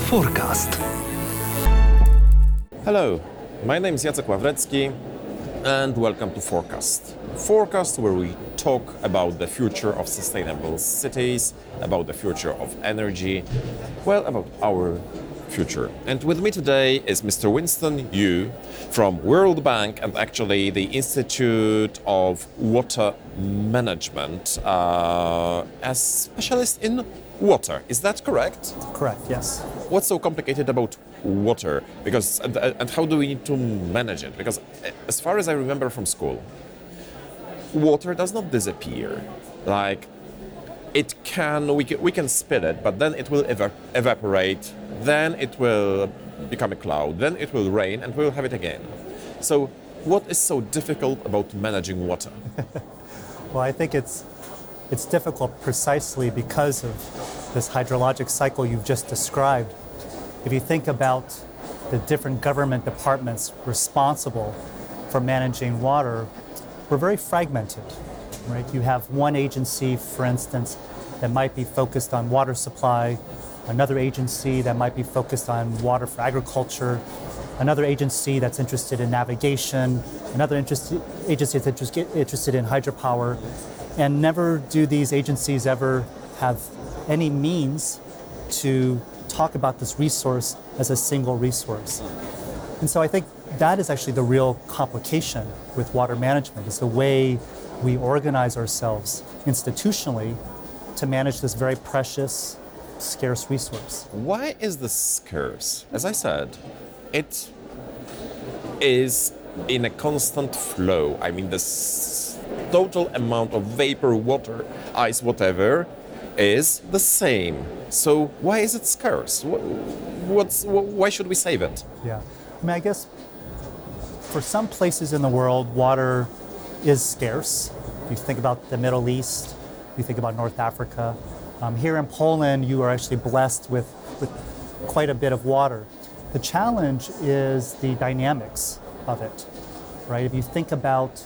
Forecast. Hello, my name is Jacek Ławrecki and welcome to Forecast. Forecast where we talk about the future of sustainable cities, about the future of energy, well, about our future. And with me today is Mr. Winston Yu from World Bank and actually the Institute of Water Management as specialist in water. Is that correct? Correct, yes. What's so complicated about water? Because and how do we need to manage it? Because as far as I remember from school, water does not disappear. Like we can spit it, but then it will evaporate. Then it will become a cloud. Then it will rain, and we'll have it again. So, what is so difficult about managing water? Well, I think it's difficult precisely because of this hydrologic cycle you've just described. If you think about the different government departments responsible for managing water, we're very fragmented, right? You have one agency, for instance, that might be focused on water supply, another agency that might be focused on water for agriculture, another agency that's interested in navigation, another agency that's interested in hydropower, and never do these agencies ever have any means to talk about this resource as a single resource. And so I think that is actually the real complication with water management, is the way we organize ourselves institutionally to manage this very precious, scarce resource. Why is this scarce? As I said, it is in a constant flow. I mean, this total amount of vapor, water, ice, whatever, is the same. So why is it scarce? Why should we save it? Yeah, I mean, I guess for some places in the world, water is scarce. You think about the Middle East, you think about North Africa. Here in Poland, you are actually blessed with quite a bit of water. The challenge is the dynamics of it, right? If you think about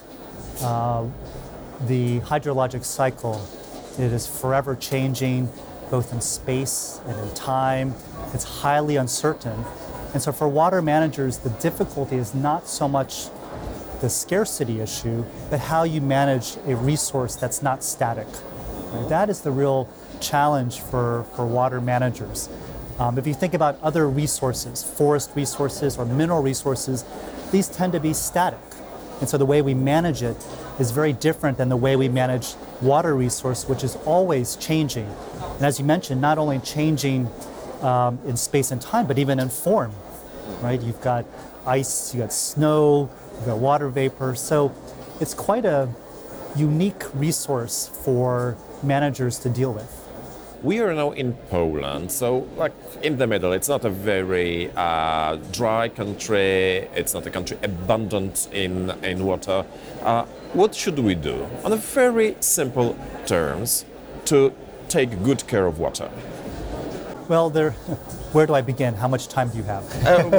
the hydrologic cycle, it is forever changing, both in space and in time. It's highly uncertain. And so for water managers, the difficulty is not so much the scarcity issue, but how you manage a resource that's not static. Right? That is the real challenge for water managers. If you think about other resources, forest resources or mineral resources, these tend to be static. And so the way we manage it is very different than the way we manage water resource, which is always changing. And as you mentioned, not only changing in space and time, but even in form, right? You've got ice, you've got snow, you've got water vapor. So it's quite a unique resource for managers to deal with. We are now in Poland, so like in the middle. It's not a very dry country. It's not a country abundant in water. What should we do, on a very simple terms, to take good care of water? Well, where do I begin? How much time do you have?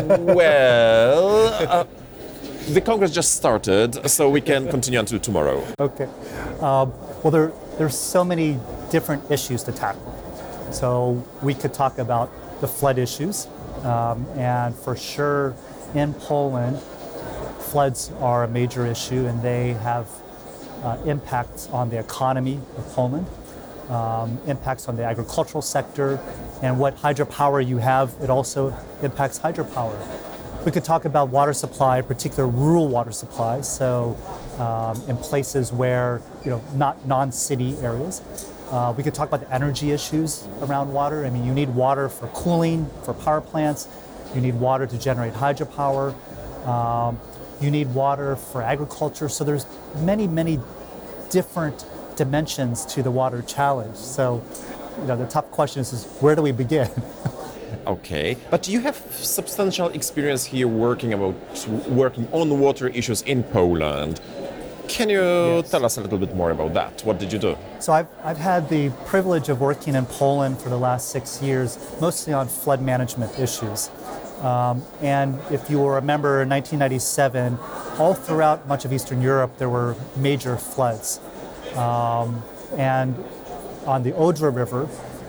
The Congress just started, so we can continue until tomorrow. Okay. Well, there's so many different issues to tackle. So we could talk about the flood issues, and for sure in Poland, floods are a major issue, and they have impacts on the economy of Poland, impacts on the agricultural sector, and what hydropower you have, it also impacts hydropower. We could talk about water supply, particular rural water supply, so in places where, not non-city areas. We could talk about the energy issues around water. I mean, you need water for cooling, for power plants. You need water to generate hydropower. You need water for agriculture. So there's many, many different dimensions to the water challenge. So, the tough question is where do we begin? Okay, but you have substantial experience here working on water issues in Poland. Can you tell us a little bit more about that? What did you do? So I've had the privilege of working in Poland for the last 6 years, mostly on flood management issues. And if you will remember, in 1997, all throughout much of Eastern Europe, there were major floods. And on the Odra River,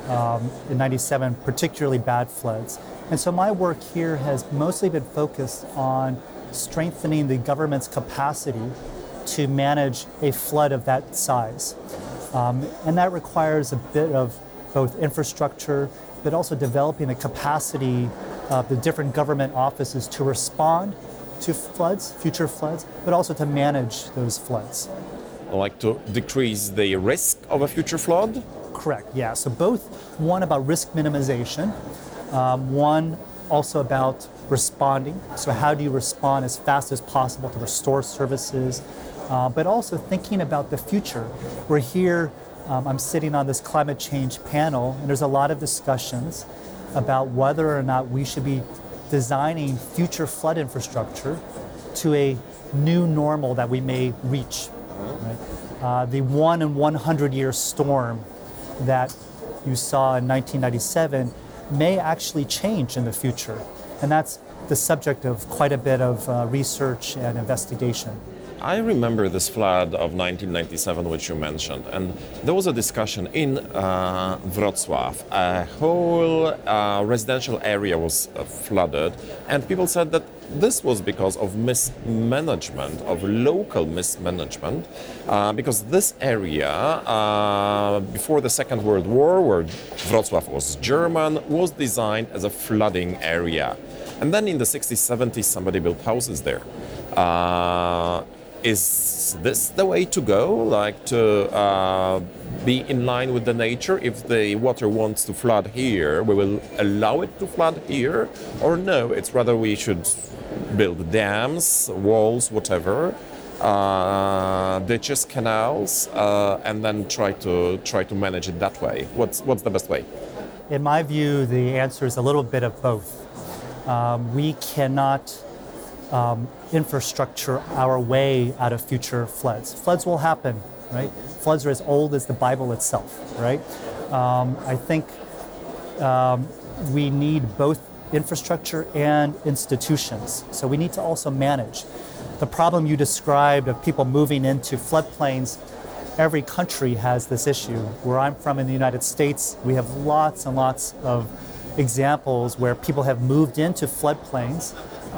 in 97, particularly bad floods. And so my work here has mostly been focused on strengthening the government's capacity to manage a flood of that size. And that requires a bit of both infrastructure, but also developing the capacity of the different government offices to respond to floods, future floods, but also to manage those floods. Like to decrease the risk of a future flood? Correct, yeah. So both one about risk minimization, one also about responding. So how do you respond as fast as possible to restore services, but also thinking about the future. We're here, I'm sitting on this climate change panel, and there's a lot of discussions about whether or not we should be designing future flood infrastructure to a new normal that we may reach. Right? The 1 in 100 year storm that you saw in 1997 may actually change in the future. And that's the subject of quite a bit of research and investigation. I remember this flood of 1997, which you mentioned, and there was a discussion in Wrocław. A whole residential area was flooded, and people said that this was because of mismanagement, of local mismanagement, because this area, before the Second World War, where Wrocław was German, was designed as a flooding area. And then in the 60s, 70s, somebody built houses there. Is this the way to go, like to be in line with the nature? If the water wants to flood here, we will allow it to flood here? Or no, it's rather we should build dams, walls, whatever, ditches, canals, and then try to manage it that way. What's the best way? In my view, the answer is a little bit of both. We cannot infrastructure our way out of future floods. Floods will happen, right? Floods are as old as the Bible itself, right? I think we need both infrastructure and institutions. So we need to also manage. The problem you described of people moving into floodplains, every country has this issue. Where I'm from in the United States, we have lots and lots of examples where people have moved into floodplains.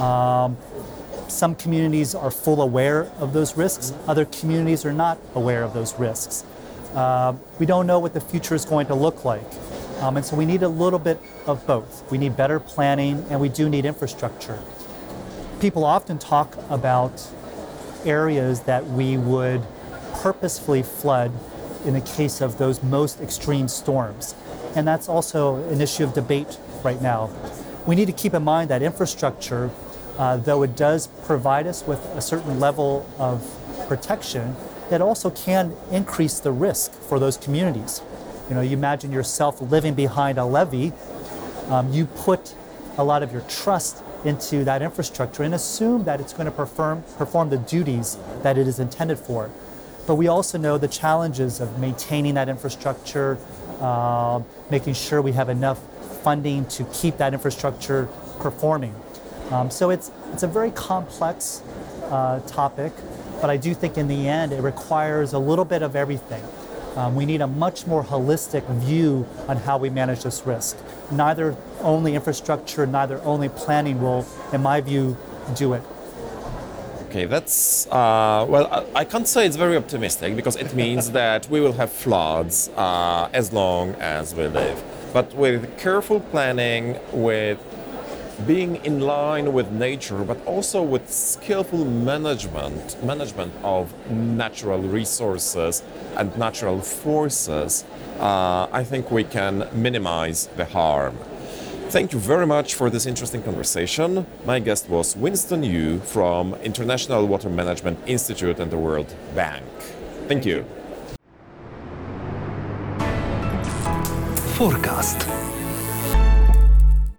Some communities are full aware of those risks. Other communities are not aware of those risks. We don't know what the future is going to look like. And so we need a little bit of both. We need better planning, and we do need infrastructure. People often talk about areas that we would purposefully flood in the case of those most extreme storms. And that's also an issue of debate right now. We need to keep in mind that infrastructure, though it does provide us with a certain level of protection, it also can increase the risk for those communities. You know, you imagine yourself living behind a levee, you put a lot of your trust into that infrastructure and assume that it's going to perform the duties that it is intended for. But we also know the challenges of maintaining that infrastructure, making sure we have enough funding to keep that infrastructure performing. So it's a very complex topic, but I do think in the end it requires a little bit of everything. We need a much more holistic view on how we manage this risk. Neither only infrastructure, neither only planning will, in my view, do it. Okay, that's, well, I can't say it's very optimistic because it means that we will have floods as long as we live. But with careful planning, with being in line with nature, but also with skillful management of natural resources and natural forces, I think we can minimize the harm. Thank you very much for this interesting conversation. My guest was Winston Yu from International Water Management Institute and the World Bank. Thank you. Forecast.